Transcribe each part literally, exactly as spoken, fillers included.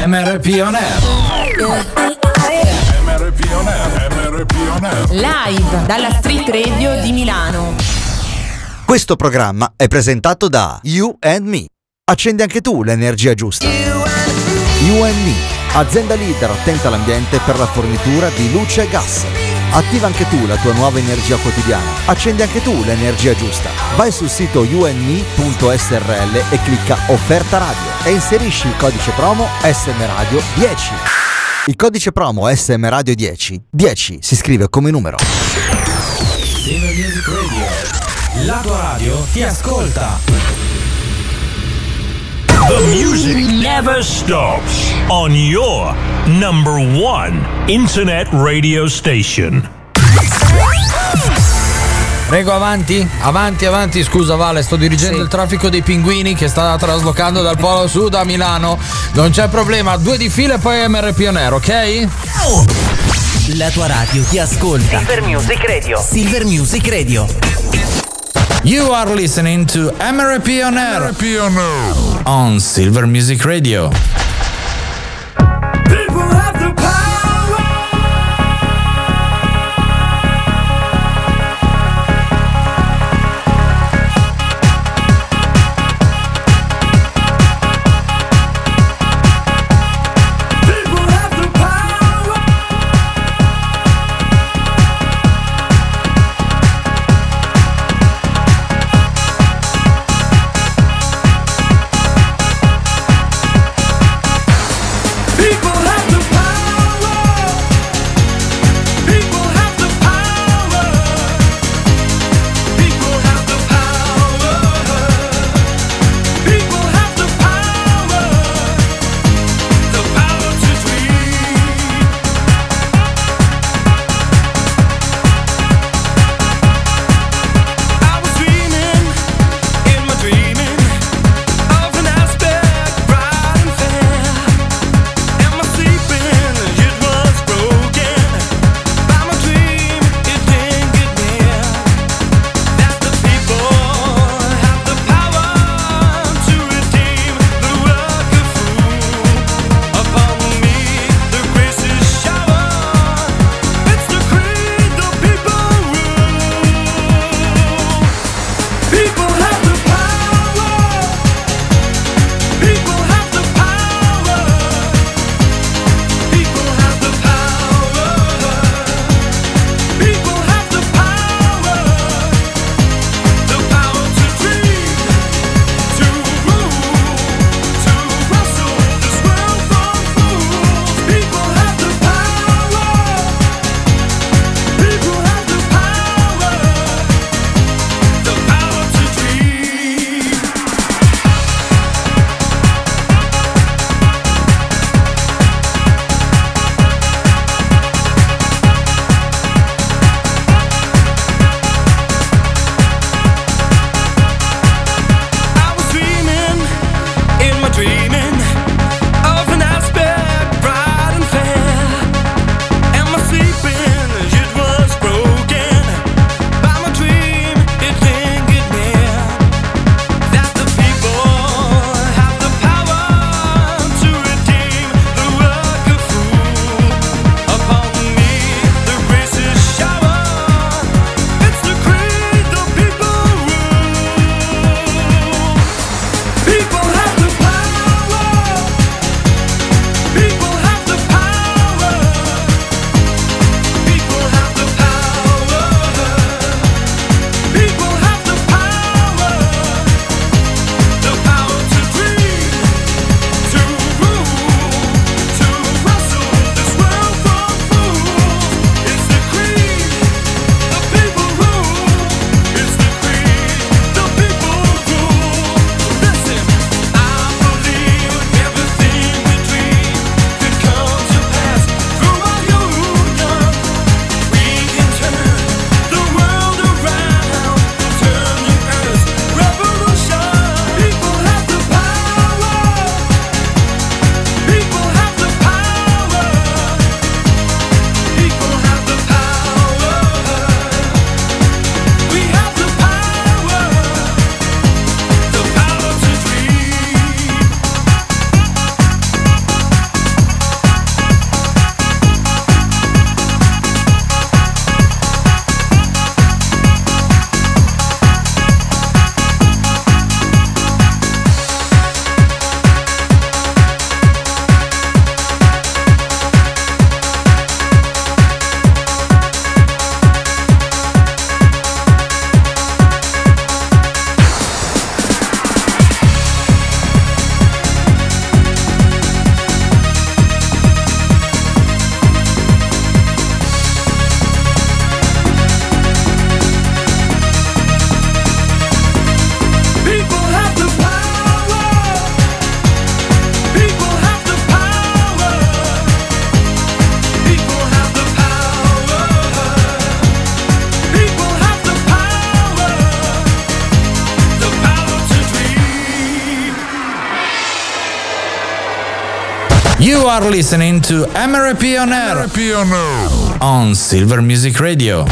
M R P On Air. M R P On Air, M R P On Air. Live dalla Street Radio di Milano. Questo programma è presentato da You and Me. Accendi anche tu l'energia giusta. You and Me, azienda leader attenta all'ambiente per la fornitura di luce e gas. Attiva anche tu la tua nuova energia quotidiana. Accendi anche tu l'energia giusta. Vai sul sito you and me punto s r l e clicca offerta radio e inserisci il codice promo S M Radio dieci. Il codice promo S M Radio dieci. dieci si scrive come numero. Silver Music Radio. La tua radio ti ascolta. The music never stops on your number one internet radio station. Prego, avanti, avanti, avanti. Scusa Vale, sto dirigendo sì. il traffico dei pinguini che sta traslocando dal Polo Sud a Milano. Non c'è problema, due di fila e poi M R P On Air, ok? La tua radio ti ascolta. Silver Music Radio. Silver Music Radio. You are listening to M R P On Air, M R P On Air on Silver Music Radio. You are listening to M R P On Air on Silver Music Radio.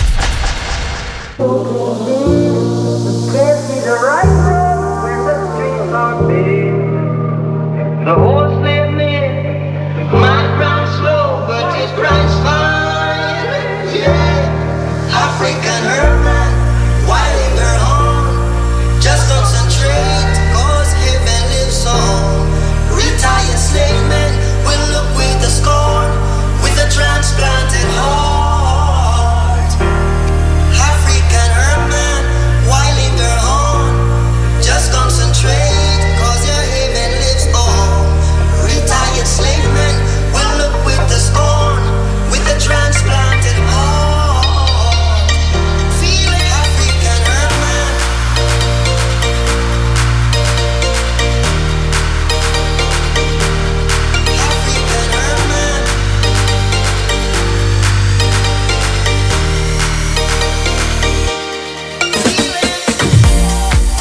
The horse led me, might run slow, but his price fine. Yeah, African hermit, while her home, just concentrate, cause heaven lives on. Retired slave men will look with the scorn, with a transplanted heart. African hermit, while her home, just concentrate, cause your heaven lives on. Retired slave men will look with the scorn, with a transplanted heart. Feel it, African hermit. African hermit. Feel it.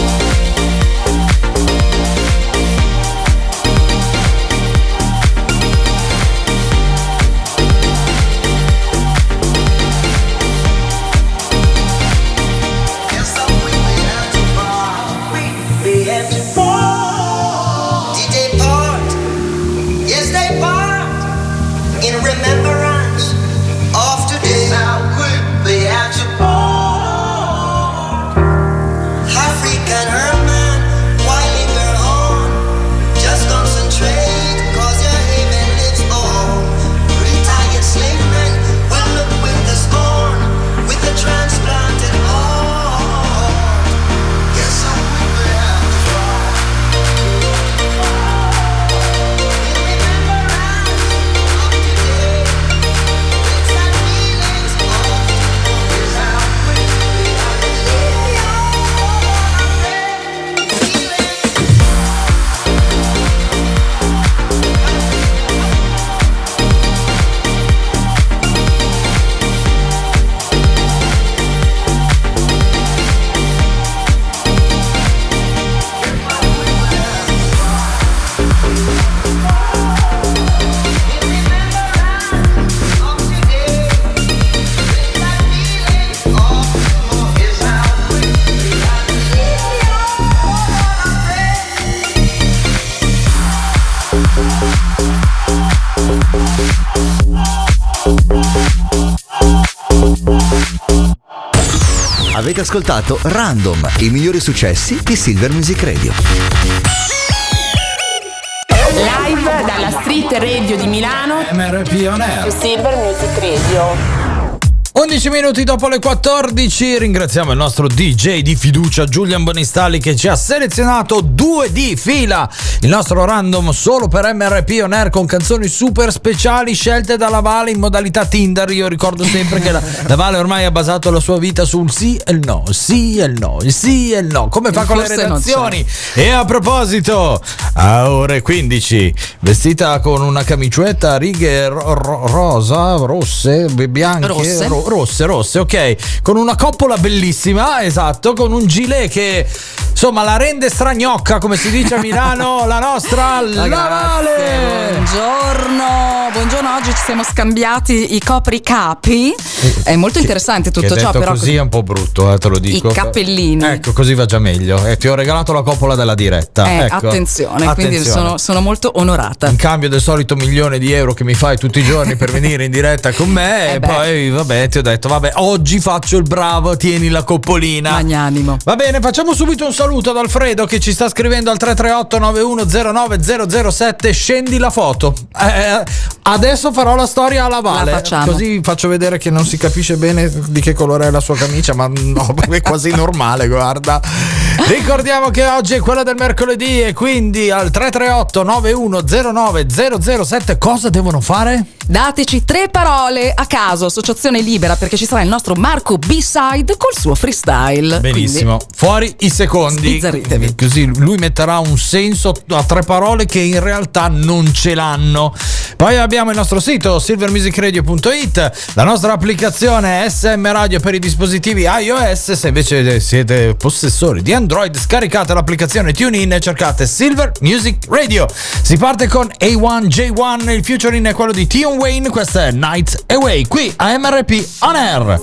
Yes, I'm we have to part. We have to part. Did they part? Yes, they part. In remembrance of today. How quick they have to part. African hermit, while in your home, just concentrate, cause your haven lives on. Retired slave men will look with the scorn, with the transplanted heart. Yes, I'm with the have to part. In remembrance of today, it's that feelings of tomorrow. Is how quick we have to leave you on a feeling. Avete ascoltato Random, i migliori successi di Silver Music Radio. Live dalla Street Radio di Milano. M R P On Air. Su Silver Music Radio. undici minuti dopo le quattordici, ringraziamo il nostro D J di fiducia Giulian Bonistalli che ci ha selezionato due di fila, il nostro random solo per M R P On Air con canzoni super speciali scelte dalla Vale in modalità Tinder. Io ricordo sempre che la, la Vale ormai ha basato la sua vita sul sì e il no, sì e il no, il sì e il no, come fa con le Forse non redazioni. E a proposito, a ore quindici, vestita con una camicetta a righe ro- ro- rosa, rosse, bianche, Rosse. ro- rosse, rosse, ok, con una coppola bellissima, esatto, con un gilet che insomma la rende stragnocca, come si dice a Milano, la nostra la Vale. Buongiorno, buongiorno, oggi ci siamo scambiati i copricapi. È molto interessante tutto che ciò, detto però così è un po' brutto, eh, te lo dico. i cappellini. Ecco, così va già meglio. E ti ho regalato la coppola della diretta. Eh, ecco. attenzione, quindi Attenzione. sono, sono molto onorata. In cambio del solito milione di euro che mi fai tutti i giorni per venire in diretta con me, Eh e beh. poi vabbè, ti ho detto, vabbè, oggi faccio il bravo, tieni la coppolina. Magnanimo. Va bene, facciamo subito un saluto ad Alfredo che ci sta scrivendo al tre tre otto nove uno zero nove zero zero sette. Scendi la foto. Eh, adesso farò la storia alla Vale. La facciamo. Così faccio vedere che non si capisce bene di che colore è la sua camicia, ma no, è quasi normale, guarda. Ricordiamo che oggi è quella del mercoledì e quindi al tre tre otto nove uno zero nove zero zero sette cosa devono fare? dateci tre parole a caso, associazione libera, perché ci sarà il nostro Marco B-Side col suo freestyle. Benissimo. Quindi, fuori i secondi. Sbizzarritevi. Così lui metterà un senso a tre parole che in realtà non ce l'hanno. Poi abbiamo il nostro sito silver music radio punto it, la nostra applicazione S M Radio per i dispositivi iOS. Se invece siete possessori di Android, scaricate l'applicazione TuneIn e cercate Silver Music Radio. Si parte con A uno J uno, il featuring è quello di Tion Wayne, questa è Night Away, qui a M R P On Air.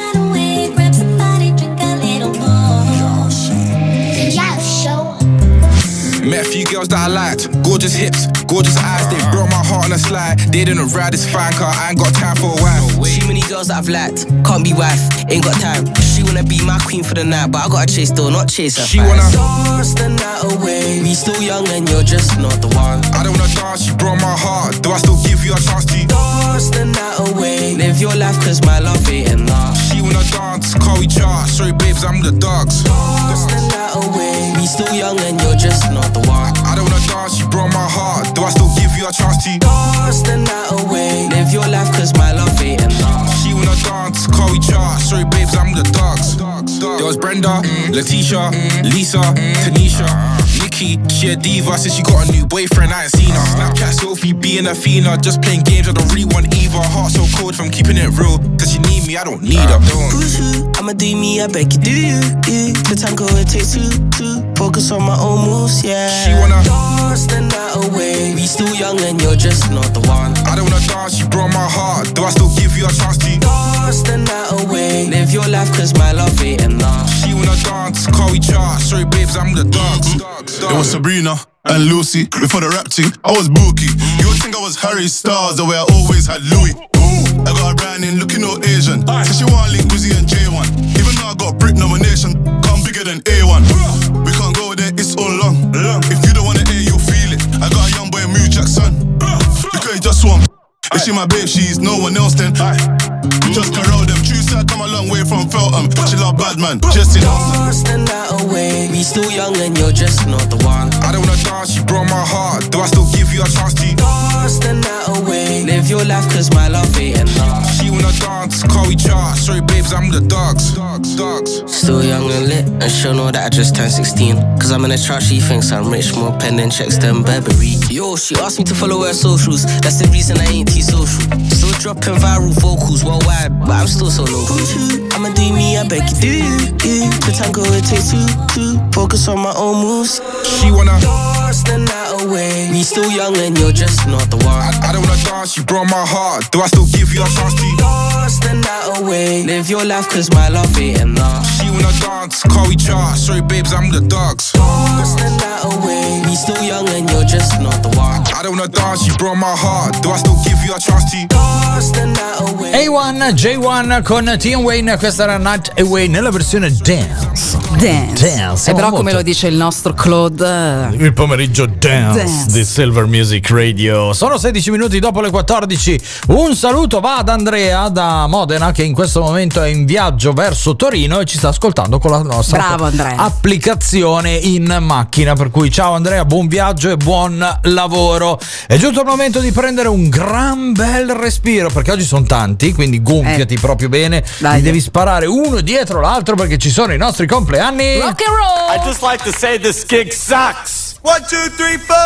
Met a few girls that I liked, gorgeous hips, gorgeous eyes, they broke my heart on a slide. They didn't ride this fine car, I ain't got time for a wife. Too many girls that I've liked, can't be wife, ain't got time. She wanna be my queen for the night, but I gotta chase though, not chase her. She wanna dance the night away. We still young and you're just not the one. I don't wanna dance, you broke my heart. Do I still give you a chance to dance the night away? Live your life cause my love ain't enough. She wanna dance, call we chart. Sorry babes, I'm the dogs. Dance the night away. We still young and you're just not the one. I don't wanna dance, you broke my heart. Do I still give you a chance to dance the night away? Live your life cause my love ain't enough. She wanna dance, call we chart. Sorry babes, I'm the dogs. There was Brenda, mm. Letitia, mm. Lisa, mm. Tanisha, Nikki. She a diva since she got a new boyfriend, I ain't seen her. Snapchat Sophie being a fiender, just playing games, I don't really want either. Heart so cold from keeping it real, cause she need me, I don't need her. Who's who? I'ma do me, I beg you, do you? you. The tango it takes two, two. Focus on my own moves, yeah. She wanna dance the night away. We still young and you're just not the one. I don't wanna dance, you broke my heart. Do I still give you a chance to dance the night away? Live your life cause my love ain't enough. She wanna dance, call we chart. Sorry babes, I'm the dogs. It was Sabrina and Lucy before the rap thing. I was Bookie. You would think I was Harry Styles the way I always had Louis. Ooh, I got a brand in looking all Asian. Said she want link Wizzy and J one. Even though I got Brit nomination, come bigger than A one. We can't go there, it's all long. If you don't wanna hear, you'll feel it. I got a young boy, Mew Jackson. Because he just swam. If she my babe, she's no one else then. Just corral them. True side come a long way from Feltham. She love bad man, just in dance the night away. We still young and you're just not the one. I don't wanna dance, you broke my heart. Do I still give you a chance to dance the night away? Live your life cause my love ain't enough. She wanna dance, call we chart. Sorry babes, I'm the dogs. Dogs, dogs. Still young and lit, and she'll know that I just turned sixteen. Cause I'm in a trap, she thinks I'm rich, more pending checks than Burberry. Yo, she asked me to follow her socials. That's the reason I ain't T-social. Still dropping viral vocals worldwide, but I'm still so local. I'ma do me, I beg you, do you? you. The tango it takes two, two. Focus on my own moves. She wanna dance the night away. We still young and you're just not the one. I, I don't wanna dance, you broke my heart. Do I still give you a chance to dance the night away? Live your life cause my love ain't enough. She wanna dance, call we chart. Sorry babes, I'm the dogs. Dance the night away. We still young and you're just not the one. I don't wanna dance, you broke my heart. Do I still give you a chance to dance the night away? A uno J uno con Tion Wayne, questa era Night Away nella versione dance. Dance. Dance. E però molto... come lo dice il nostro Claude, il pomeriggio dance, dance di Silver Music Radio. Sono sedici minuti dopo le quattordici. Un saluto va ad Andrea da Modena, che in questo momento è in viaggio verso Torino e ci sta ascoltando con la nostra Bravo, Andrea. applicazione in macchina. Per cui ciao Andrea, buon viaggio e buon lavoro. È giunto il momento di prendere un gran bel respiro, perché oggi sono tanti, quindi gonfiati eh. proprio bene. Dai. Li devi sparare uno dietro l'altro perché ci sono i nostri compleanni. Rock and roll. I just like to say this gig sucks. One, two, three, four.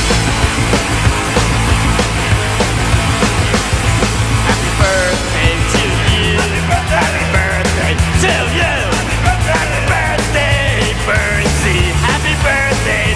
Happy birthday to you. Happy birthday to you. Happy birthday, Bernsey. Happy birthday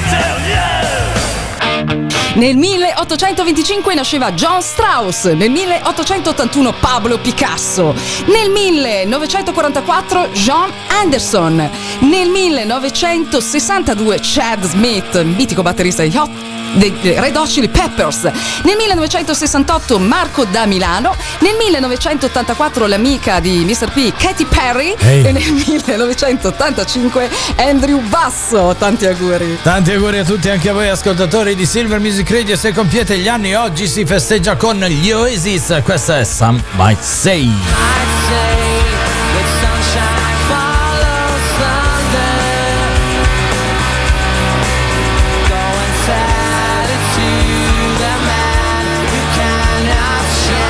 to you. Nel milleottocentoventicinque nasceva John Strauss, nel milleottocentottantuno Pablo Picasso, nel millenovecentoquarantaquattro John Anderson, nel millenovecentosessantadue Chad Smith, mitico batterista di Hot dei Red Hot Chili Peppers, nel millenovecentosessantotto Marco da Milano, nel millenovecentottantaquattro l'amica di mister P Katy Perry hey. e nel millenovecentottantacinque Andrew Basso. Tanti auguri. Tanti auguri a tutti, anche a voi ascoltatori di Silver Music Radio. Se compiete gli anni oggi si festeggia con gli Oasis. Questa è Some Might Say. Share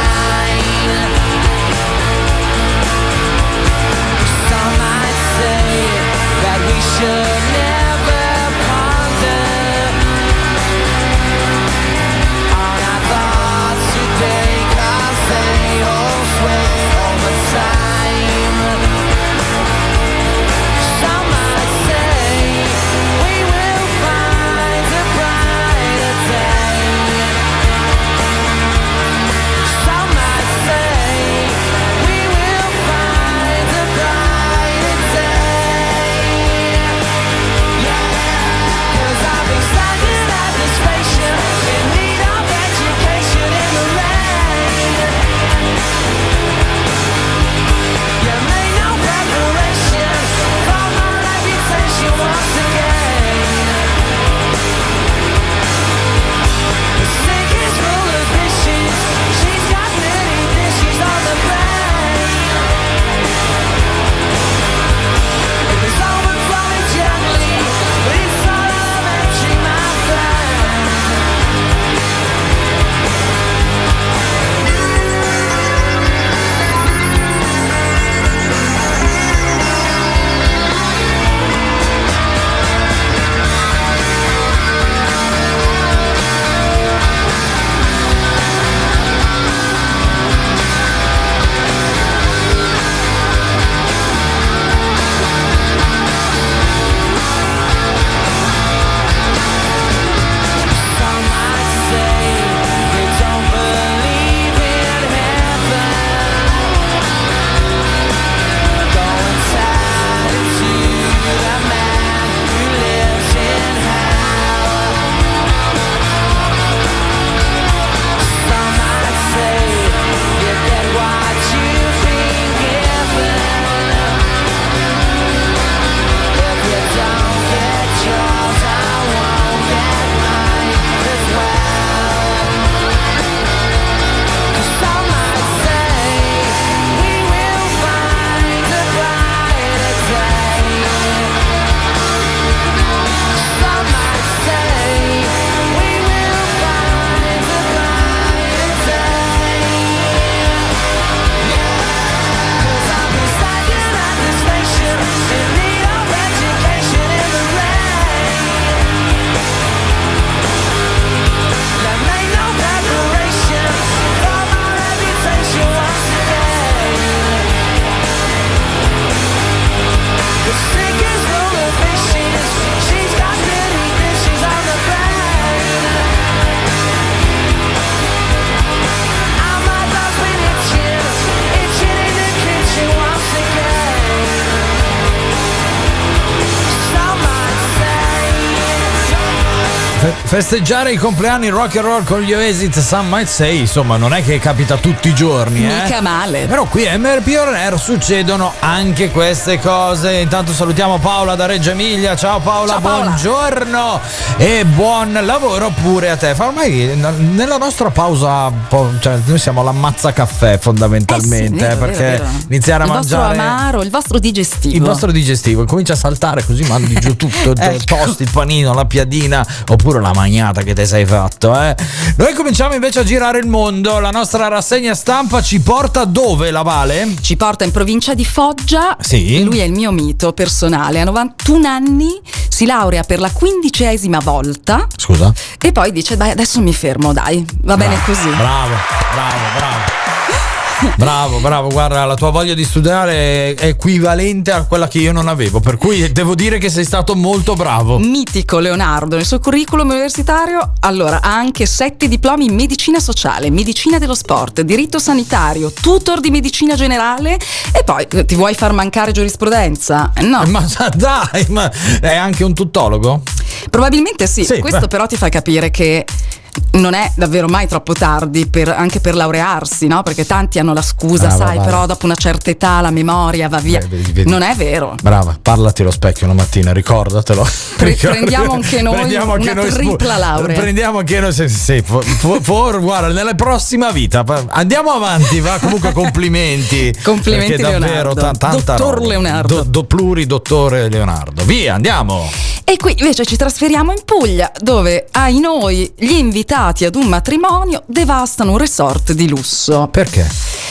festeggiare i compleanni rock and roll con gli Oasis, Some Might Say, insomma, non è che capita tutti i giorni, eh. Mica male. Però qui a M R P On Air succedono anche queste cose. Intanto salutiamo Paola da Reggio Emilia. Ciao Paola, Ciao Paola. Buongiorno e buon lavoro pure a te. Ormai nella nostra pausa, cioè, noi siamo l'ammazza caffè fondamentalmente, eh sì, vero, perché vero, vero. iniziare a il mangiare vostro amaro, il vostro digestivo. il vostro digestivo comincia a saltare, così mandi giù tutto, il Ecco. toast, il panino, la piadina oppure la magnata che te sei fatto, eh. Noi cominciamo invece a girare il mondo. La nostra rassegna stampa ci porta dove, la Vale? Ci porta in provincia di Foggia. Sì. Lui è il mio mito personale. A novantuno anni si laurea per la quindicesima volta. Scusa? E poi dice: dai, adesso mi fermo, dai, va bene così. Bravo, bravo, bravo. Bravo, bravo, guarda, la tua voglia di studiare è equivalente a quella che io non avevo, per cui devo dire che sei stato molto bravo. Mitico Leonardo, nel suo curriculum universitario, allora, ha anche sette diplomi in medicina sociale, medicina dello sport, diritto sanitario, tutor di medicina generale e poi eh, ti vuoi far mancare giurisprudenza? No. Ma dai, ma è anche un tuttologo? Probabilmente sì, Sì, questo beh. però ti fa capire che non è davvero mai troppo tardi per, anche per laurearsi, no? Perché tanti hanno la scusa, Brava, sai, Vale. però dopo una certa età la memoria va via. Beh, vedi, vedi. Non è vero. Brava, parlati allo specchio una mattina, ricordatelo. Pre- prendiamo anche noi Prendiamo anche una noi spu- tripla laurea. Prendiamo anche noi, sì, sì, for, for, for- guarda, nella prossima vita andiamo avanti, va, comunque complimenti. Complimenti, perché davvero Leonardo. ta- tanta Dottor roba. Leonardo. Do, do pluri dottore Leonardo. Via, andiamo. E qui invece ci trasferiamo in Puglia, dove ai noi gli invitati ad un matrimonio devastano un resort di lusso. Perché?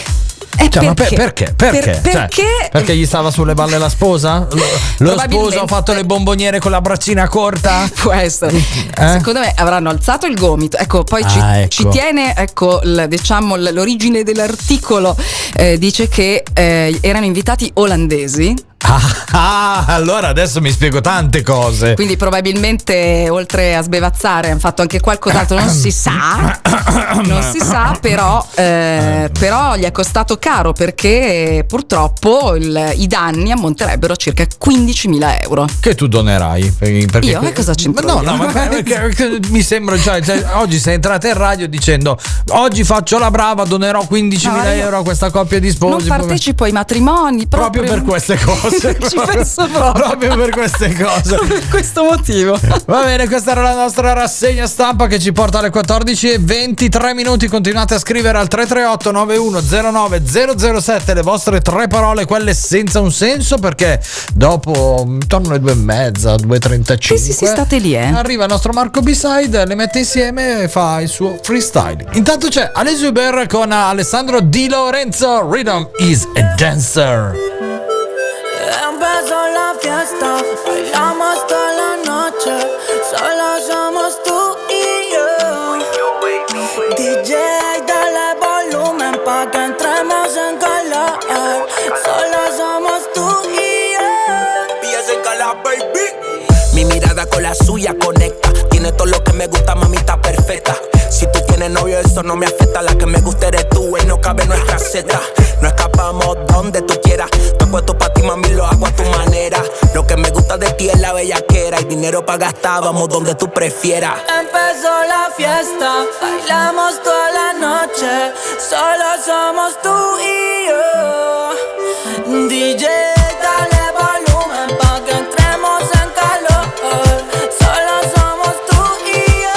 E Cioè, ma per- perché? perché? Perché? Per- Cioè, perché? perché gli stava sulle balle la sposa? Lo, lo Probabilmente. sposo ha fatto le bomboniere con la braccina corta? Può essere. Eh? Secondo me avranno alzato il gomito. Ecco, poi ci, Ah, ecco. ci tiene, ecco, l- diciamo l- l'origine dell'articolo eh, dice che eh, erano invitati olandesi. Ah, ah, allora adesso mi spiego tante cose. Quindi probabilmente oltre a sbevazzare hanno fatto anche qualcos'altro, non si sa, non si sa, però, eh, però gli è costato caro perché purtroppo il- i danni ammonterebbero a circa quindicimila euro. Che tu donerai? Perché Io? E cosa c'entro No, io? no, ma perché mi sembra già, cioè, oggi sei entrata in radio dicendo oggi faccio la brava, donerò quindicimila No, io euro a questa coppia di sposi. Non partecipo ai matrimoni proprio, Proprio per queste cose. Ci penso proprio. Proprio per queste cose. Per questo motivo. Va bene, questa era la nostra rassegna stampa che ci porta alle quattordici e ventitré minuti. Continuate a scrivere al tre tre otto nove uno zero nove zero zero sette le vostre tre parole, quelle senza un senso, perché dopo intorno alle due e mezza, due e trentacinque Sì, sì, sì, state lì, eh. arriva il nostro Marco B-Side, le mette insieme e fa il suo freestyle. Intanto c'è Ale Zuber con Alessandro Di Lorenzo, Rhythm is a Dancer. Empezó la fiesta, bailamos toda la noche, solo somos tú y yo. D J, dale volumen pa' que entremos en calor, solo somos tú y yo. Pillas en cala, baby. Mi mirada con la suya conecta, tiene todo lo que me gusta, mamita perfecta. Si tú tienes novio, eso no me afecta. La que me gusta eres tú y no cabe en nuestra seta. No escapamos donde tú quieras. Te puesto pa' ti, mami, lo hago a tu manera. Lo que me gusta de ti es la bellaquera. Y dinero pa' gastar, vamos donde tú prefieras. Empezó la fiesta, bailamos toda la noche, solo somos tú y yo. D J, dale volumen pa' que entremos en calor, solo somos tú y yo.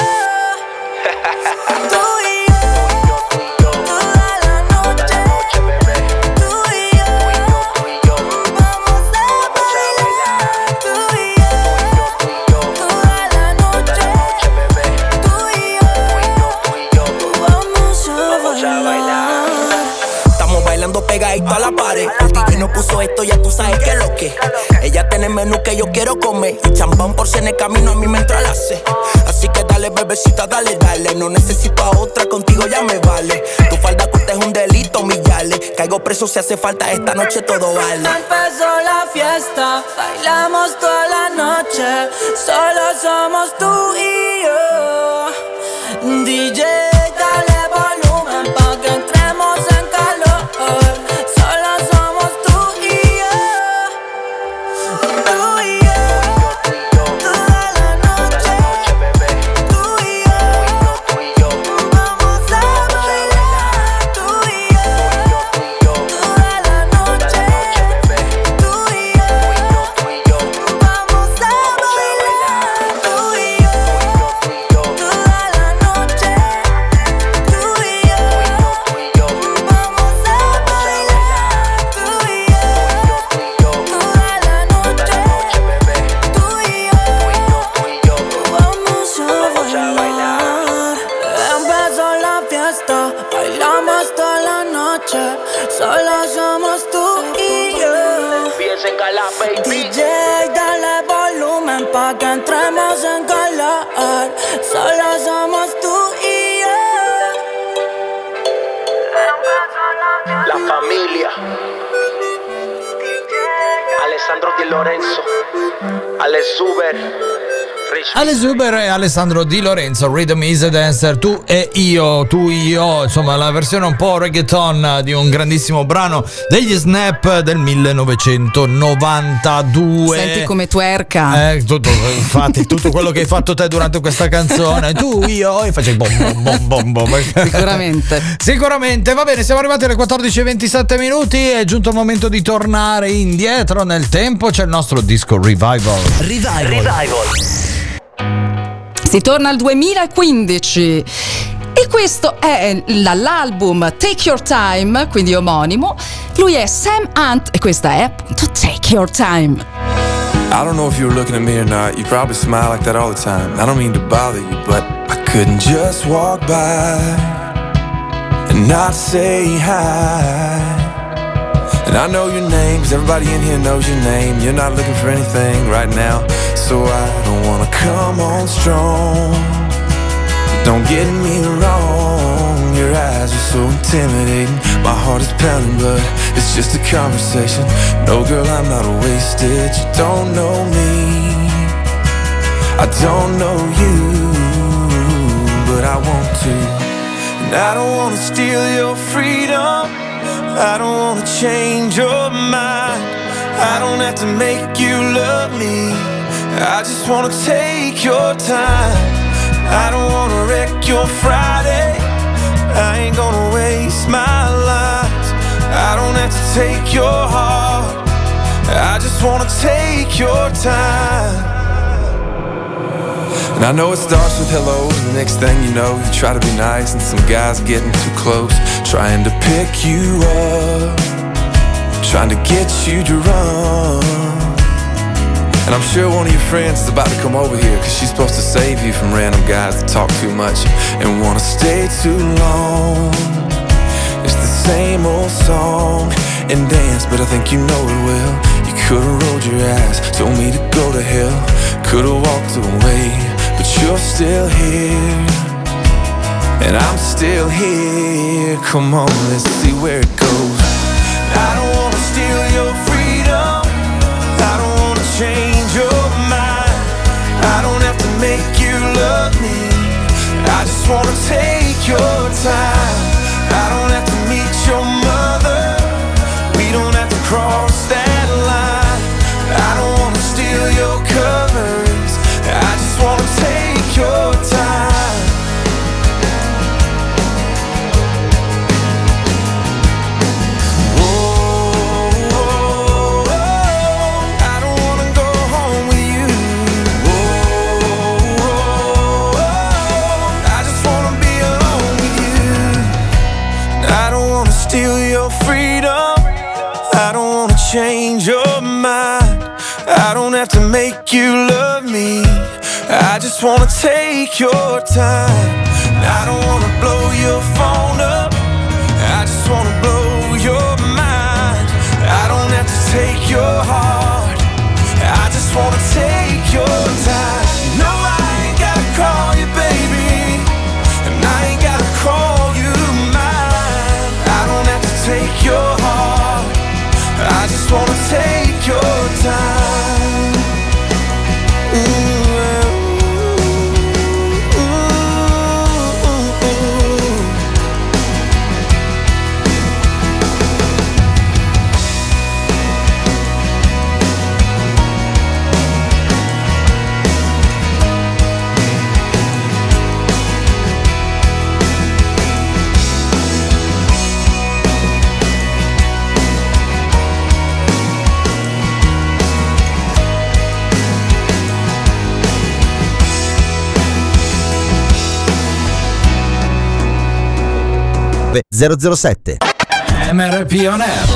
Tú y yo, toda la noche, tú y yo, vamos a bailar, tú y yo, toda la noche, tú y yo, vamos a bailar. Estamos bailando pegadito a la pared. El D J nos puso esto, ya tú sabes que es lo que. Ella tiene el menú que yo quiero comer. Y champán por si en el camino a mí me entra la sed. Así que dale, bebecita, dale, dale. No necesito a otra, contigo ya me vale. Tu falda corta es un delito, millarle. Caigo preso si hace falta, esta noche todo vale. Empezó la fiesta, bailamos toda la noche, solo somos tú y yo. D J, dale volumen pa' que entremos en calor, solo somos tú y yo. Tú y yo, toda la noche, tú y fiesta, bailamos toda la noche, solo somos tú y yo. D J, dale volumen pa' que entremos en calor, solo somos tú y yo. La familia, Alessandro Di Lorenzo, Ale Zuber, Ale Zuber e Alessandro Di Lorenzo, Rhythm is a Dancer, tu e io, tu e io, insomma la versione un po' reggaeton di un grandissimo brano degli Snap del millenovecentonovantadue. Senti come twerca. Eh, tutto, infatti tutto quello che hai fatto te durante questa canzone, tu, io, e facevi bom bom bom bom bom. Sicuramente. Sicuramente, va bene, siamo arrivati alle quattordici e ventisette minuti, è giunto il momento di tornare indietro nel tempo, c'è il nostro disco Revival. Revival. Revival. Si torna al duemilaquindici e questo è l'album Take Your Time, quindi omonimo. Lui è Sam Hunt e questa è appunto Take Your Time. I don't know if you were looking at me or not. You probably smile like that all the time. I don't mean to bother you, but I couldn't just walk by and not say hi. And I know your name, 'cause everybody in here knows your name. You're not looking for anything right now, so I don't wanna come on strong. Don't get me wrong, your eyes are so intimidating. My heart is pounding, but it's just a conversation. No girl, I'm not wasted. You don't know me, I don't know you, but I want to. And I don't wanna steal your freedom, I don't wanna change your mind, I don't have to make you love me, I just wanna take your time. I don't wanna wreck your Friday, I ain't gonna waste my life, I don't have to take your heart, I just wanna take your time. And I know it starts with hello, and the next thing you know, you try to be nice, and some guy's getting too close, trying to pick you up, trying to get you to run. And I'm sure one of your friends is about to come over here, 'cause she's supposed to save you from random guys that talk too much and wanna stay too long. It's the same old song and dance, but I think you know it well. You could've rolled your eyes, told me to go to hell, could've walked away, but you're still here, and I'm still here. Come on, let's see where it goes. I don't wanna steal your freedom, I don't wanna change your mind, I don't have to make you love me, I just wanna take your time. I don't have to meet your mother, we don't have to cross that line, I don't wanna steal your covers, I just wanna take your time. Oh, oh, oh, I don't wanna go home with you. Oh, oh, oh, I just wanna be alone with you. I don't wanna steal your freedom, I don't wanna change your mind, I don't have to make you love me, I just wanna take your time. I don't wanna blow your phone up, I just wanna blow your mind, I don't have to take your heart, I just wanna take your time. No, I ain't gotta call you baby, and I ain't gotta call you mine, I don't have to take your heart, I just wanna take your time. Mm. zero zero sette M R P On Air.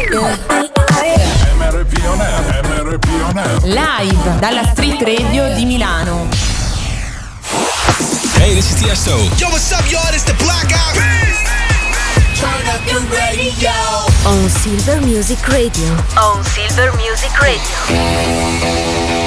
M R P On Air, M R P On Air. Live dalla Street Radio di Milano. Hey, this is Tiesto. Yo, what's up, y'all? It's the Black Eyed Peas. Turn up your radio. On Silver Music Radio. On Silver Music Radio.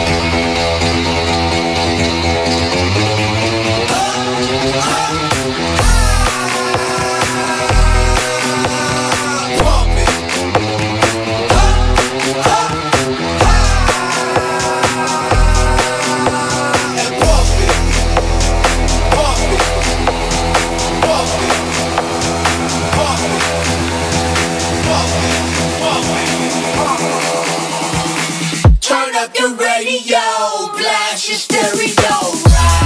Turn up your radio, blast your stereo.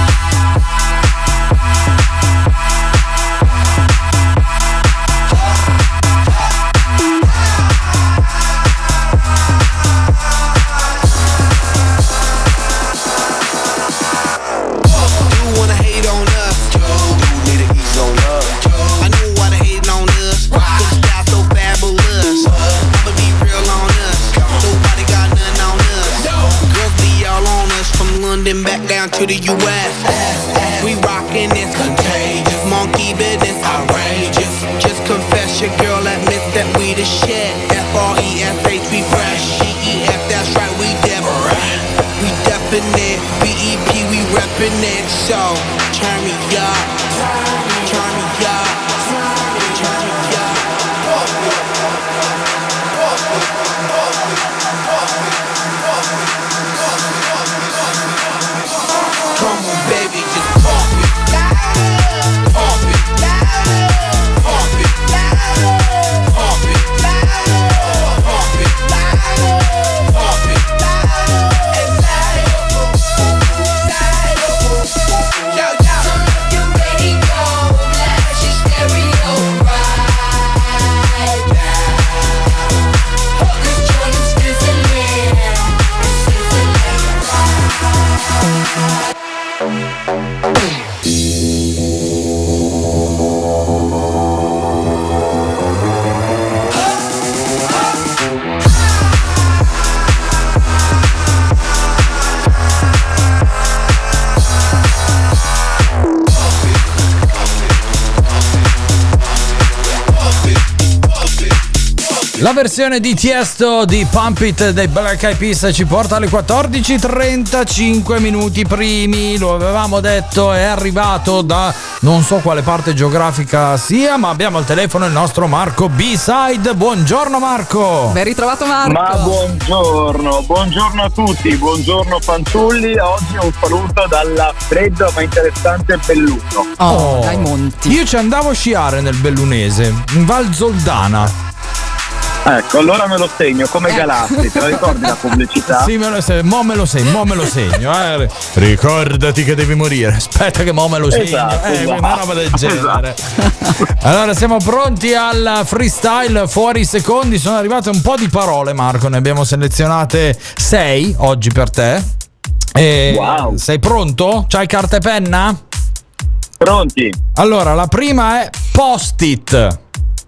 You wanna hate on us? You need to ease on up. I know why they hating on us. Cause the style so fabulous. I'ma be real on us. Nobody got nothing on us. Girls be all on us from London back down to the U S. We rockin' this contagious, monkey business outrageous. Just confess your girl admits that we the shit. F R E S H, we fresh. G E F, that's right, we different. We definite. B E P, we reppin' it. So turn me up, turn me up, turn me up. Come on, baby, just pump it, pump it, pump it, pump it, pump it, pump it. Yo, yo. Turn up your radio, blast your stereo right now. Cause Jordan's sizzling, sizzling. La versione di Tiesto di Pump It dei Black Eyed Peas ci porta alle quattordici e trentacinque minuti primi. Lo avevamo detto, è arrivato da non so quale parte geografica sia, ma abbiamo al telefono il nostro Marco B-Side. Buongiorno Marco. Ben ritrovato Marco. Ma buongiorno, buongiorno a tutti, buongiorno fanciulli. Oggi un saluto dalla fredda ma interessante Belluno. Oh, dai monti. Io ci andavo a sciare nel Bellunese, in Val Zoldana. Ecco, allora me lo segno come Galassi, te la ricordi la pubblicità? Sì, me lo segno, mo me lo segno, mo me lo segno. Eh. Ricordati che devi morire. Aspetta che mo me lo segno. Esatto, eh, esatto. Una roba del genere. Esatto. Allora, siamo pronti al freestyle fuori secondi. Sono arrivate un po' di parole, Marco. Ne abbiamo selezionate sei oggi per te. E wow. Sei pronto? C'hai carta e penna? Pronti. Allora, la prima è post-it.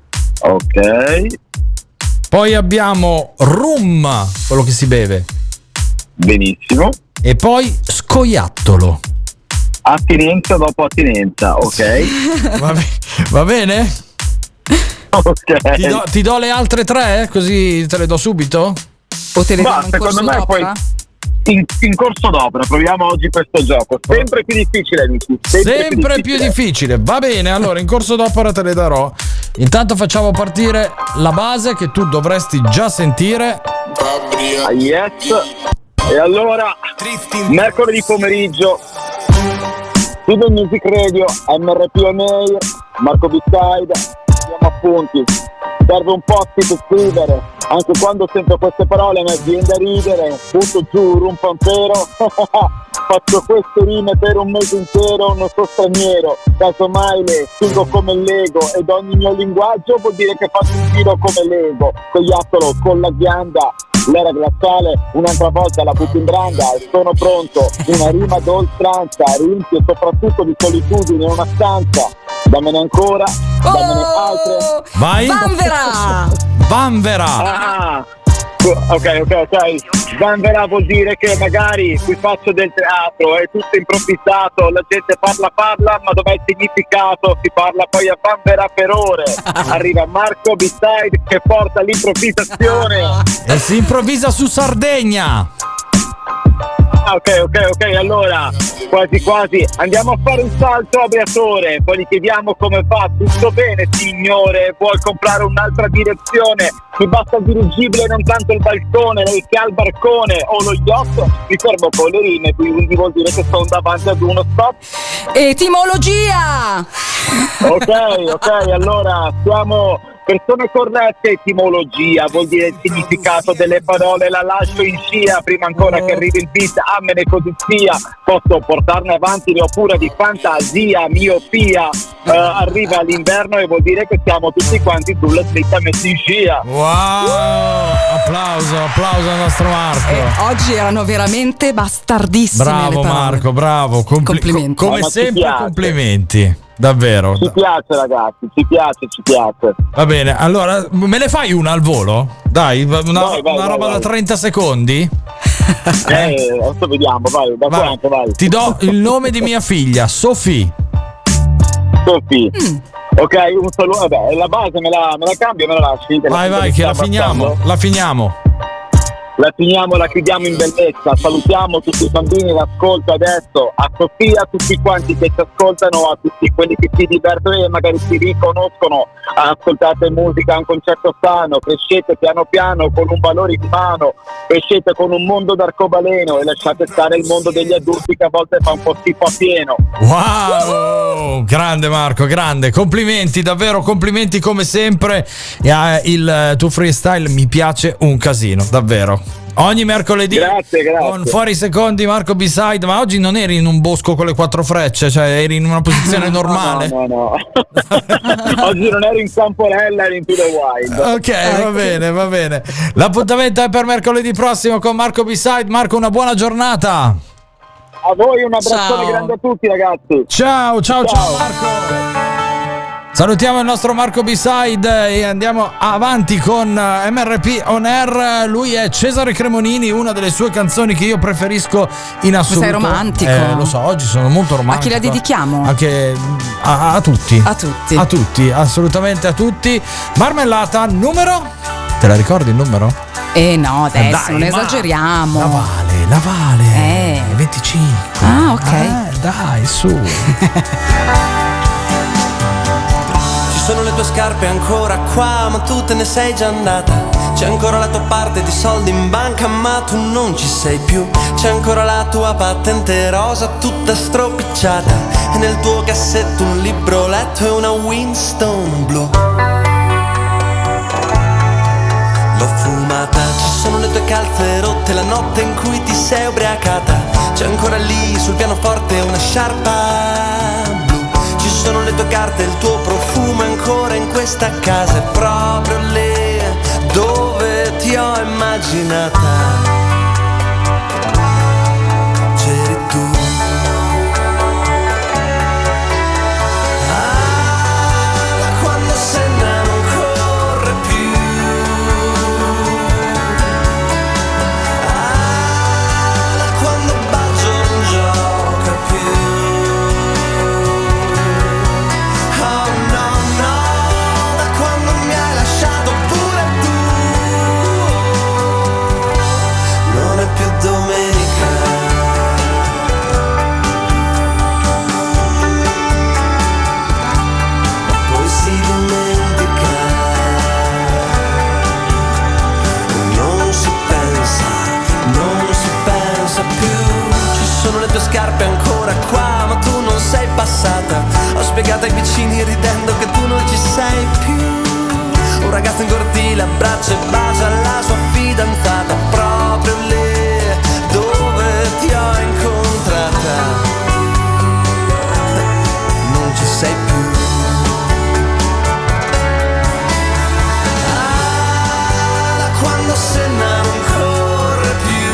Ok. Poi abbiamo rum, quello che si beve. Benissimo. E poi scoiattolo. Attinenza dopo attinenza, ok. Va, be- va bene? Ok. Ti do, ti do le altre tre, così te le do subito? O te le Ma secondo me d'opera? poi in, in corso d'opera proviamo oggi questo gioco. Sempre più difficile, amici. Sempre, Sempre Sempre più, più difficile. difficile. Va bene, allora in corso d'opera te le darò. Intanto facciamo partire la base che tu dovresti già sentire. Ah, yes. E allora mercoledì pomeriggio Silver Music Radio, M R P On Air, Marco B-Side. Siamo appunti. Serve un po' per scrivere. Anche quando sento queste parole mi viene da ridere. Butto giù un pampero. Faccio queste rime per un mese intero, non so straniero, casomai le stingo come Lego ed ogni mio linguaggio vuol dire che faccio un giro come Lego. Cogliattolo con la ghianda, l'era glaciale, un'altra volta la butto in branda e sono pronto, una rima d'oltranza, riempie soprattutto di solitudine in una stanza. Dammene ancora, dammene altre. Vai. Vanvera! Vanvera! Ah, ok, ok, ok. Svanverà vuol dire che magari qui faccio del teatro, è tutto improvvisato, la gente parla parla, ma dov'è il significato? Si parla poi a Vanverà per ore. Arriva Marco B-Side che porta l'improvvisazione. E si improvvisa su Sardegna. Ah, ok, ok, ok, allora quasi quasi andiamo a fare un salto a Briatore, poi gli chiediamo come va. Tutto bene signore, vuoi comprare un'altra direzione? Mi basta il dirigibile, non tanto il balcone, lei che ha il barcone o lo yacht. Mi fermo con le rime, quindi vuol dire che sono davanti ad uno stop. Etimologia! Ok, ok, allora siamo persone corrette. Etimologia vuol dire il significato delle parole, la lascio in scia prima ancora che arrivi il beat, ammene così sia. Posso portarne avanti, ne ho pure di fantasia, miopia. Uh, arriva l'inverno e vuol dire che siamo tutti quanti sulla slitta messi in scia. Wow! Applauso, applauso al nostro Marco. E oggi erano veramente bastardissime. Bravo le parole. Marco, bravo. Compli- Complimenti. co- come No, ma ci sempre, piace. complimenti. Davvero. Ci piace ragazzi, ci piace, ci piace. Va bene, allora me ne fai una al volo? Dai, una, Vai, vai, una vai, roba vai. da trenta secondi? Eh, adesso vediamo, vai, da Vai. quanto, vai. Ti do il nome di mia figlia, Sofì. Sofì. Ok, un saluto, vabbè, la base me la, me la cambio, me la lasci. Vai, vai, che la finiamo, la finiamo. La finiamo, la chiudiamo in bellezza. Salutiamo tutti i bambini in ascolto adesso, a Sofia, a tutti quanti che ci ascoltano, a tutti quelli che si divertono e magari si riconoscono. Ascoltate musica, un concetto sano, crescete piano piano con un valore in mano, crescete con un mondo d'arcobaleno e lasciate stare il mondo degli adulti che a volte fa un po' schifo a pieno. Wow, grande Marco, grande, complimenti, davvero complimenti come sempre. E, eh, il tuo freestyle mi piace un casino, davvero. Ogni mercoledì Grazie, grazie. con Fuori Secondi, Marco B-Side. Ma oggi non eri in un bosco con le quattro frecce, cioè eri in una posizione normale? No, no, no. Oggi non ero in Camporella, ero in To The Wild. Ok, va bene, va bene. L'appuntamento è per mercoledì prossimo con Marco B-Side. Marco, una buona giornata. A voi un abbraccione Ciao. grande a tutti ragazzi. Ciao, ciao, ciao, Marco. Salutiamo il nostro Marco B-Side e andiamo avanti con M R P On Air. Lui è Cesare Cremonini, una delle sue canzoni che io preferisco in assoluto. Sei romantico. Eh, lo so, oggi sono molto romantico. A chi la dedichiamo? Anche a, a tutti. A tutti. A tutti, assolutamente a tutti. Marmellata numero? Te la ricordi il numero? Eh no, adesso Eh, dai, non ma- esageriamo. La Vale, la Vale. Eh. venticinque. Ah, ok. Eh, dai, su. Ci sono le tue scarpe ancora qua, ma tu te ne sei già andata. C'è ancora la tua parte di soldi in banca, ma tu non ci sei più. C'è ancora la tua patente rosa tutta stropicciata, e nel tuo cassetto un libro letto e una Winston blu. L'ho fumata. Ci sono le tue calze rotte, la notte in cui ti sei ubriacata. C'è ancora lì sul pianoforte una sciarpa blu. Ci sono le tue carte, il tuo profumo è ancora in questa casa. È proprio lì dove ti ho immaginata. C'eri tu. Ah, quando Senna non corre più. Ah, quando Baggio non gioca più. Oh no, no, da quando mi hai lasciato pure tu. Non è più domenica. Poi si dimentica. Non si pensa, non si pensa più. Ci sono le tue scarpe ancora qua, ma tu non sei passata. Ho spiegato ai vicini ridendo che tu non ci sei più. Un ragazzo in cortile abbraccia e bacia la sua fidanzata, proprio lì dove ti ho incontrata. Non ci sei più. Ah, quando Senna non corre più.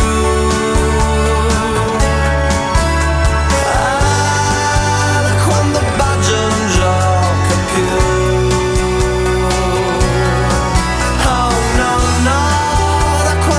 Ah, quando Baggio non gioca più. Oh no, no, da quando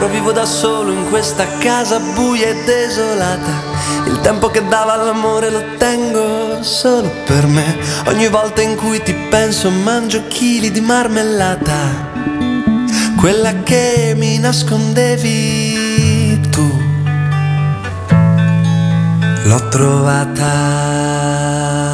ora vivo da solo in questa casa buia e desolata. Il tempo che dava all'amore lo tengo solo per me. Ogni volta in cui ti penso mangio chili di marmellata, quella che mi nascondevi tu. L'ho trovata.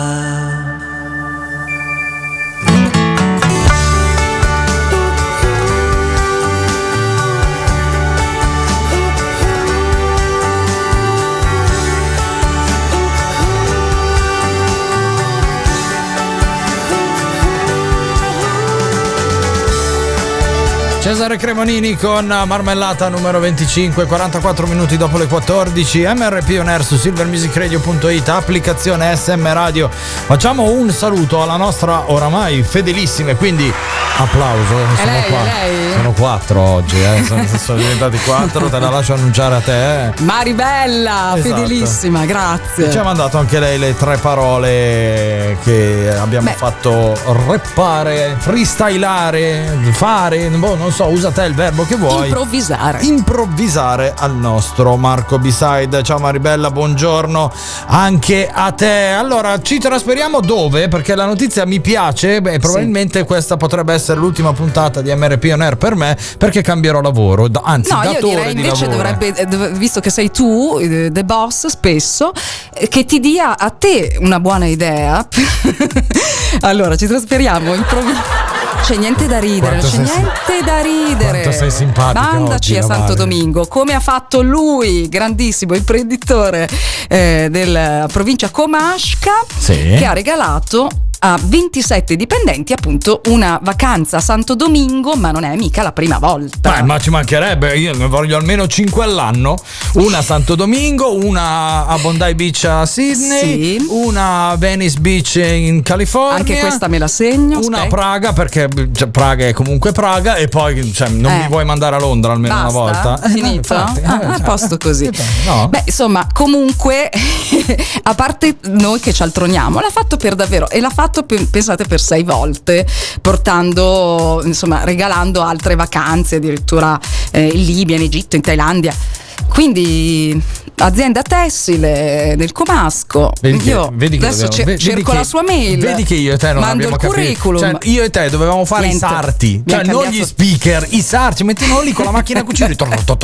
Cesare Cremonini con Marmellata numero venticinque, quarantaquattro minuti dopo le quattordici. M R P On Air su silver music radio punto it, applicazione S M Radio. Facciamo un saluto alla nostra oramai fedelissima, quindi applauso. Sono lei, qua. lei. Sono quattro oggi, eh. sono, sono diventati quattro, te la lascio annunciare a te. Eh. Maribella, Esatto. Fedelissima, grazie. Ci ha mandato anche lei le tre parole che abbiamo Beh. fatto reppare, freestylare, fare, boh, non so, usa te il verbo che vuoi. Improvvisare. Improvvisare al nostro Marco B-Side. Ciao Maribella, buongiorno anche a te. Allora, ci trasferiamo dove? Perché la notizia mi piace, beh, probabilmente sì. Questa potrebbe essere l'ultima puntata di M R P On Air per me, perché cambierò lavoro, anzi no, datore io direi di invece lavoro. dovrebbe, visto che sei tu the boss spesso, che ti dia a te una buona idea. Allora ci trasferiamo improvvisamente. C'è niente da ridere, Quanto c'è sei niente sim- da ridere. Quanto sei simpatica Mandaci oggi, a la Santo Vale. Domingo, come ha fatto lui, grandissimo imprenditore eh, della provincia Comasca, Sì. che ha regalato a ventisette dipendenti appunto una vacanza a Santo Domingo, ma non è mica la prima volta. Beh, ma ci mancherebbe, io ne voglio almeno cinque all'anno. Una a Santo Domingo, una a Bondi Beach a Sydney, Sì. una a Venice Beach in California. Anche questa me la segno. Una a aspetta. Praga, perché cioè, Praga è comunque Praga, e poi cioè, non Eh. mi vuoi mandare a Londra almeno Basta? una volta? Eh, Finito? no, infatti, eh, Ah, cioè, a posto così. no. Beh, insomma, comunque, a parte noi che ci altroniamo, l'ha fatto per davvero, e l'ha fatto pe- pensate per sei volte, portando, insomma, regalando altre vacanze, addirittura eh, in Libia, in Egitto, in Thailandia. Quindi azienda tessile del Comasco. Vedi che- io vedi che adesso dobbiamo- cer- vedi cerco che- la sua mail, Vedi che io e te non mando abbiamo il capito. curriculum. Cioè, io e te dovevamo fare Niente. i sarti, Mi cioè ha non cambiato- gli speaker, i sarti, mettiamo lì con la macchina a cucire.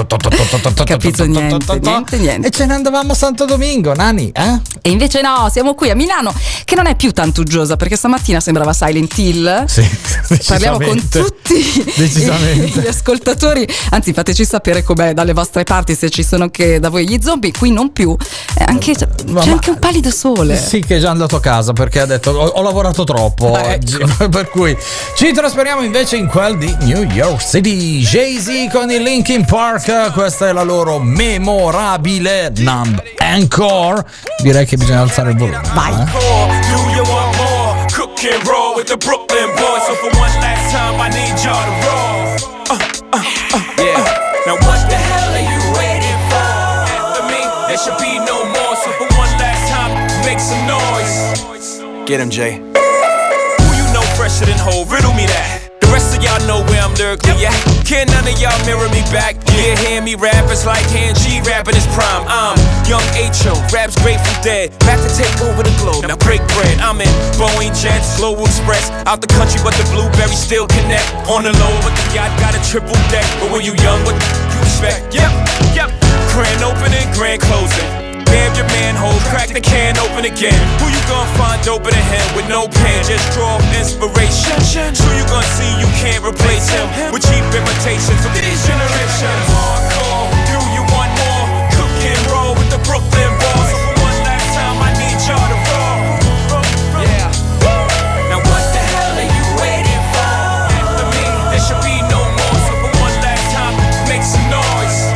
Capito niente, niente, niente. E ce ne andavamo a Santo Domingo, Nani, eh? E invece no, siamo qui a Milano, che non è più tanto uggiosa, perché stamattina sembrava Silent Hill. Sì, Parliamo con decisamente. tutti Decisamente. gli ascoltatori. Anzi, fateci sapere com'è dalle vostre parti, se ci sono anche da voi gli zombie. Qui non più. Eh, anche, c'è Ma- anche un pallido sole. Sì, che è già andato a casa perché ha detto ho, ho lavorato troppo Ah, oggi. ecco. Per cui ci trasferiamo invece in quel di New York City. Jay-Z con il Linkin Park, questa è la loro memorabile Numb Encore. Direi che bisogna alzare il volume. Vai. eh? Do you want more? Cook and roll with the Brooklyn boys. So for one last time, I need y'all to roll. Uh, uh, uh, yeah. Now what the hell are you waiting for? After me, there should be no more. So for one last time, make some noise. Get him, Jay. Who you know fresher than Ho? Riddle me that. The rest of y'all know where I'm lyrically at. Can none of y'all mirror me back? Yeah, hear me rap, it's like Han G rapping his prime. I'm young H O, raps Grateful Dead, back to take over the globe. Now break bread, I'm in Boeing Jets, Global Express. Out the country, but the blueberries still connect. On the low, but the yacht got a triple deck. But when you young, what you expect? Yep, yep. Grand opening, grand closing. Grab your manhole, crack the can open again. Who you gonna find open a hand with no pen? Just draw inspiration. Who you gonna see you can't replace him with cheap imitations of these generations? Hardcore, do you want more? Cook and roll with the Brooklyn boys. For one last time, I need y'all to roll. Yeah. Now what the hell are you waiting for? After me, there should be no more. So for one last time, make some noise.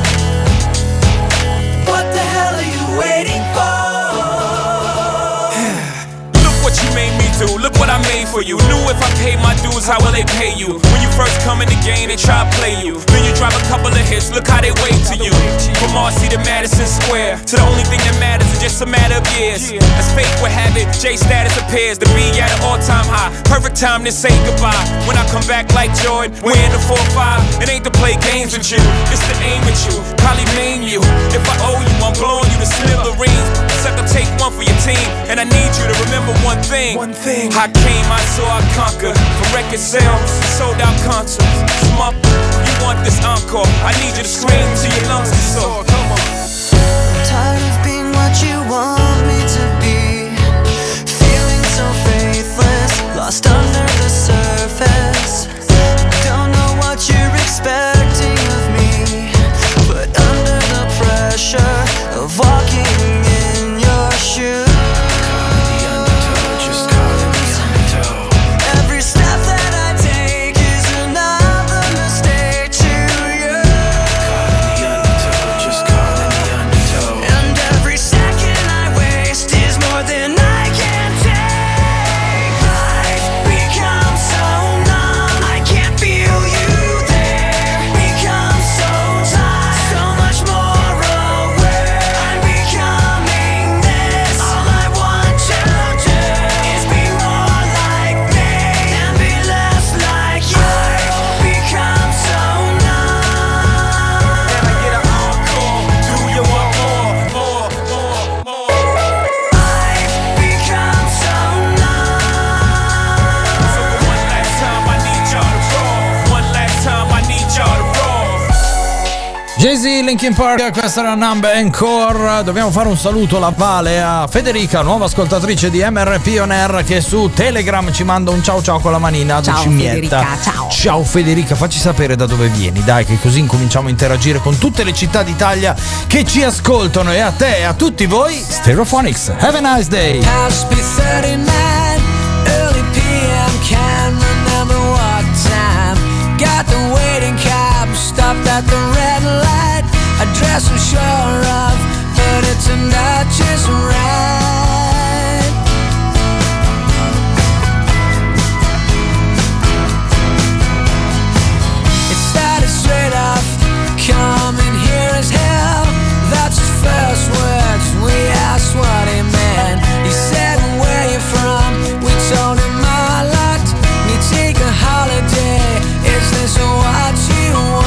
What the hell are you waiting for? Look what you made me do, look what I made for you. Knew if I paid my dues, how will they pay you? When you first come in the game, they try to play you. Then you drive a couple of hits, look how they wait to you. From Marcy to Madison Square, to the only thing that matters is just a matter of years. As fate would have it, J status appears to be at an all-time high. Perfect time to say goodbye. When I come back like Jordan, we're in the four five. It ain't to play games with you, it's to aim at you, probably maim you. If I owe you, I'm blowing you to smithereens. Except I take one for your team, and I need you to remember one thing. One thing. I came, I saw, I conquered. From record sales, sold out concerts. Come up, you want this encore? I need you to scream till your lungs are sore. Come on. Tired of being what you want me to be, feeling so faithless, lost under the surface. Don't know what you're expecting of me, but under the pressure of walking in your shoes, every step that I take is another mistake to you. And every second I waste is more than I can take. Life becomes so numb, I can't feel you there. Becomes so tight, so much more aware. I'm becoming this. All I want to do is be more like me and be less like you. Life becomes so numb. Can I get an encore? Do you want more, more, more, more? Life becomes so numb. So for one last time, I need y'all to roll. One last time, I need y'all to roll. Jay-Z, Linkin Park, questa era Number Encore. Dobbiamo fare un saluto lappale a Federica, nuova ascoltatrice di M R P On Air, che su Telegram ci manda un ciao ciao con la manina. Ciao, cimietta. Federica, ciao. Ciao Federica, facci sapere da dove vieni, dai, che così incominciamo a interagire con tutte le città d'Italia che ci ascoltano. E a te e a tutti voi, Stereophonics. Have a nice day. House be thirty-nine, early P M, can't remember what time. Got the waiting cab, stopped at the red light. Address I'm sure of, but it turned out just right. It started straight off, coming here as hell. That's his first words, we asked what he meant. He said, where you from? We told him a lot. We take a holiday, is this what you want?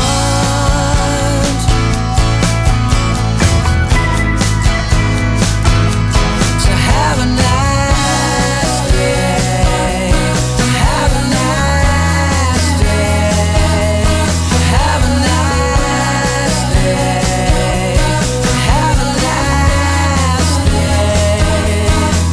So have a nice day, have a nice day, have a nice day, have a nice day.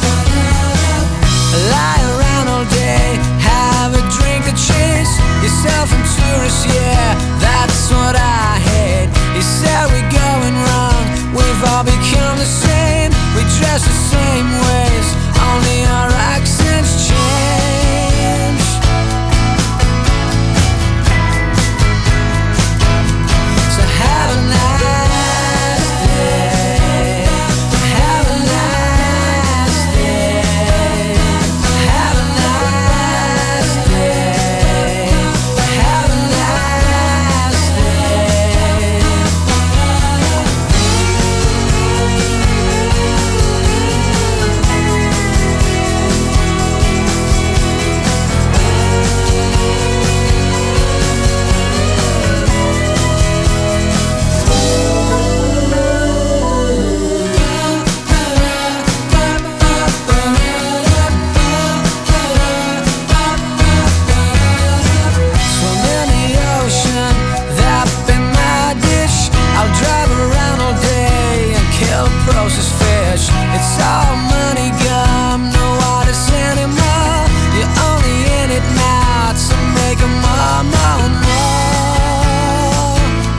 Lie around all day, have a drink to chase yourself and tourists, yeah, that's what I hate. He said we're going wrong, we've all become the same. We dress the same ways, only our accents change. So have a nice day, have a nice day, have a nice day, have a nice day. Swim in the ocean, that be my dish. I'll drive around all day and kill processed fish. It's all money gum, no artists anymore. You're only in it now to make 'em more, more, more.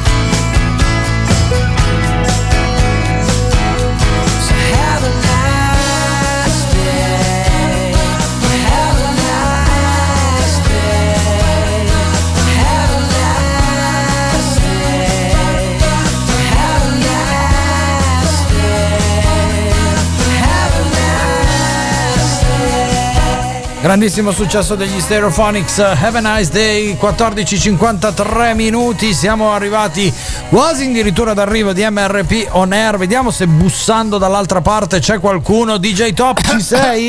So have a nice day, have a nice day, have a nice day, have a nice day, have a nice day. Grandissimo successo degli Stereophonics, Have a Nice Day, quattordici e cinquantatré minuti, siamo arrivati quasi addirittura d'arrivo di M R P On Air. Vediamo se bussando dall'altra parte c'è qualcuno. D J Top, ci sei?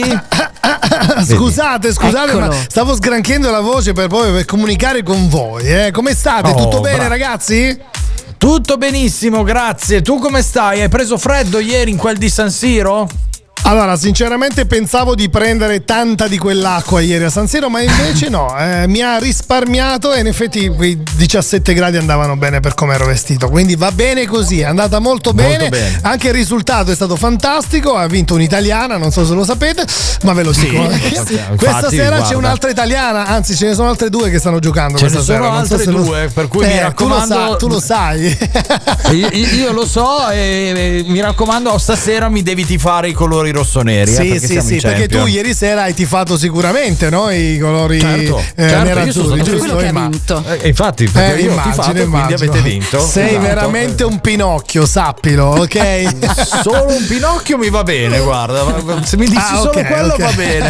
Scusate, scusate, Eccolo. ma stavo sgranchiando la voce per poi per comunicare con voi. Eh. Come state? Oh, Tutto bene, bra- ragazzi? Tutto benissimo, grazie. Tu come stai? Hai preso freddo ieri in quel di San Siro? Allora, sinceramente pensavo di prendere tanta di quell'acqua ieri a San Siro, ma invece no, eh, mi ha risparmiato e in effetti quei diciassette gradi andavano bene per come ero vestito, quindi va bene così, è andata molto bene, Molto bene. Anche il risultato è stato fantastico, ha vinto un'italiana, non so se lo sapete, ma ve lo Sì, dico. infatti, Questa sera guarda. c'è un'altra italiana, anzi ce ne sono altre due che stanno giocando Ce questa ne sono sera. Non so altre se lo- due, per cui mi Eh, raccomando- Tu lo, sa- tu lo sai. Io, io lo so e, e mi raccomando, stasera mi devi tifare i colori rossoneri. eh, Sì, perché sì, siamo sì, in perché tu Champions. ieri sera hai tifato sicuramente, no? I colori Certo, eh, certo, nerazzurri, io sono stato giusto? quello che ha Ma- vinto. Eh, infatti, perché Eh, io ho immagino, tifato, quindi immagino. avete vinto. Sei Esatto. veramente un Pinocchio, sappilo, ok? Solo un Pinocchio mi va bene, guarda. Se mi dici Ah, solo ok, quello ok. va bene.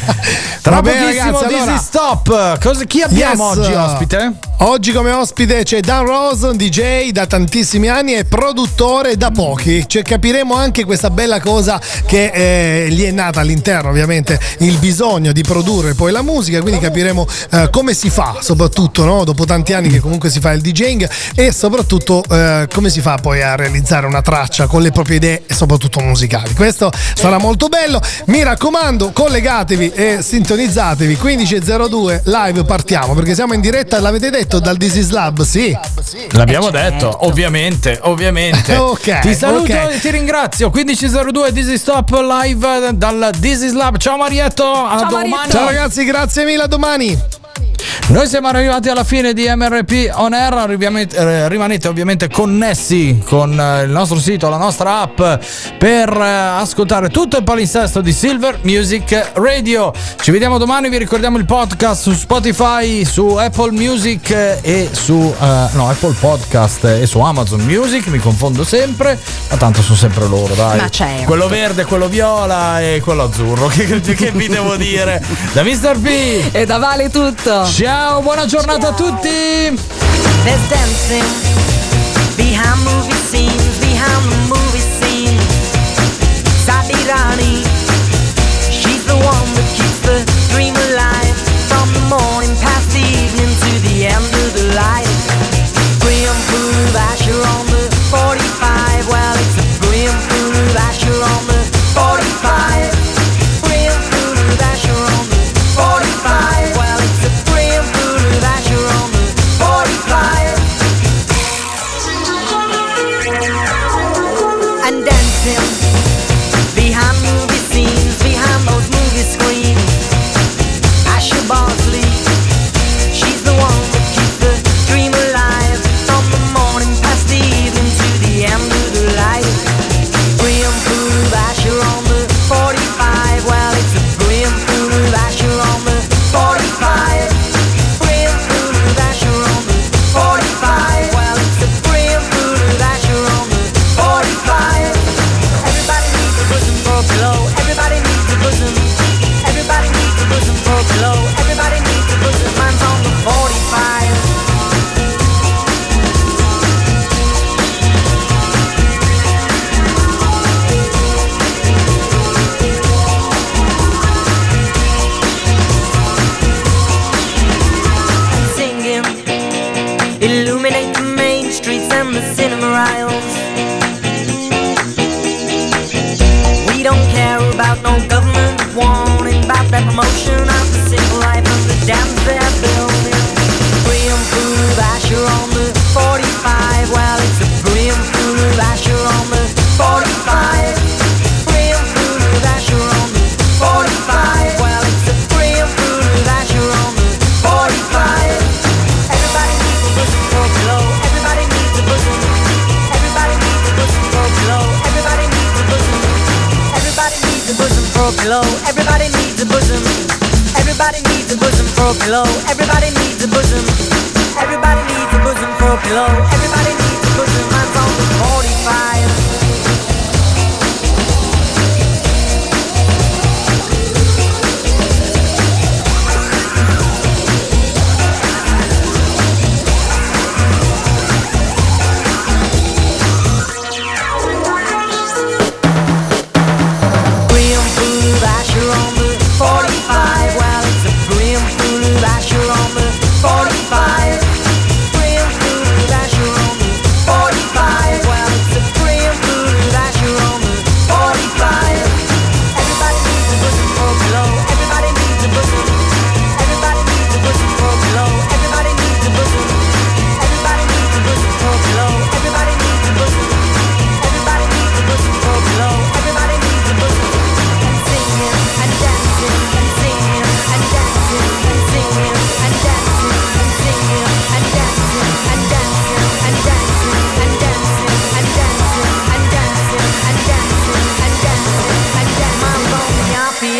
Tra Va bene, pochissimo ragazzi, This allora- is Stop. Cosa, chi abbiamo Yes. oggi ospite? Oggi come ospite c'è Dan Rose, un D J da tantissimi anni e produttore da pochi. Cioè, capiremo anche questa bella cosa che eh, gli è nata all'interno, ovviamente, il bisogno di produrre poi la musica, quindi capiremo eh, come si fa, soprattutto no? Dopo tanti anni che comunque si fa il DJing, e soprattutto eh, come si fa poi a realizzare una traccia con le proprie idee e soprattutto musicali. Questo sarà molto bello. Mi raccomando, collegatevi e sintonizzatevi. quindici e zero due live, partiamo perché siamo in diretta, l'avete detto, dal This is Lab, sì. L'abbiamo detto, ovviamente, ovviamente. Ok, Ti saluto ok. e ti ringrazio. quindici e zero due This is Stop live dal This is Lab. Ciao Marietto, a domani. Ciao ragazzi, grazie mille, a domani. Noi siamo arrivati alla fine di M R P On Air, arriviamo- eh, rimanete ovviamente connessi con eh, il nostro sito, la nostra app per eh, ascoltare tutto il palinsesto di Silver Music Radio. Ci vediamo domani, vi ricordiamo il podcast su Spotify, su Apple Music eh, e su eh, no, Apple Podcast e su Amazon Music, mi confondo sempre, ma tanto sono sempre loro, dai. Ma certo. Quello verde, quello viola e quello azzurro, che, che vi devo dire? Da mister P e da Vale tutto. Ciao, buona giornata a tutti. There's dancing behind movie scenes, behind the movie scene. Sabirani, she's the one that keeps the dream alive. From the morning past the evening to the end of the light. Brim food Asher on the forty-five. Well, it's a brim food Asher on the forty-five. Brim food Asher on the forty-five. Well, it's a brim food Asher on the forty-five. And dancing behind movie scenes, behind those movie screens. Asher Bosley, she's the one that keeps the dream alive. From the morning past the evening to the end of the light. Brim food Asher on the forty-five. Well, it's a brim food Asher on the forty-five. Brim food Asher on the forty-five. Well, it's a brim food Asher on the forty-five. Everybody needs a bosom for a pillow. Everybody needs a bosom. Everybody needs a bosom for a pillow. Everybody needs a bosom. Mine's on the forty-five. And singing, illuminate the main streets and the cinema aisles. We don't care about no government warning about that promotion of the simple life of the dams they're building. Brim food Asher on the forty-five. Well, it's a brim food Asher on the forty-five. Brim food Asher on the forty-five. Well, it's a brim food Asher on the forty-five. Everybody needs a bosom for a pillow. Everybody needs a bosom. Everybody needs a bosom for a pillow. Everybody needs a bosom. Everybody needs a bosom for a pillow. Everybody needs a bosom. Everybody needs a bosom for a pillow. Everybody needs a bosom. Everybody needs a bosom for a pillow. Everybody needs a bosom. Mine's on the forty-five.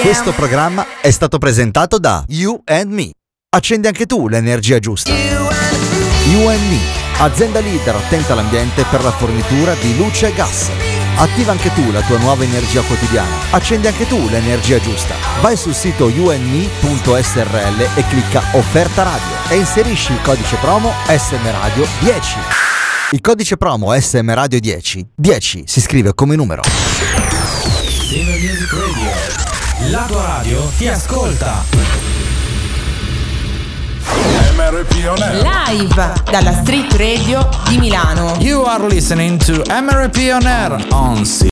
Questo programma è stato presentato da You and Me. Accendi anche tu l'energia giusta. You and Me, azienda leader attenta all'ambiente per la fornitura di luce e gas. Attiva anche tu la tua nuova energia quotidiana. Accendi anche tu l'energia giusta. Vai sul sito you and me punto s r l e clicca offerta radio e inserisci il codice promo S M Radio dieci. Il codice promo S M Radio dieci, dieci si scrive come numero. Silver Music Radio, la tua radio ti ascolta. M R P On Air. Live dalla Street Radio di Milano. You are listening to M R P On Air on